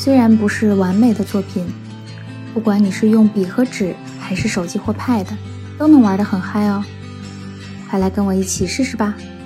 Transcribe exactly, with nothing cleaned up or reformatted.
虽然不是完美的作品，不管你是用笔和纸还是手机或 pad， 都能玩得很嗨哦。快来跟我一起试试吧。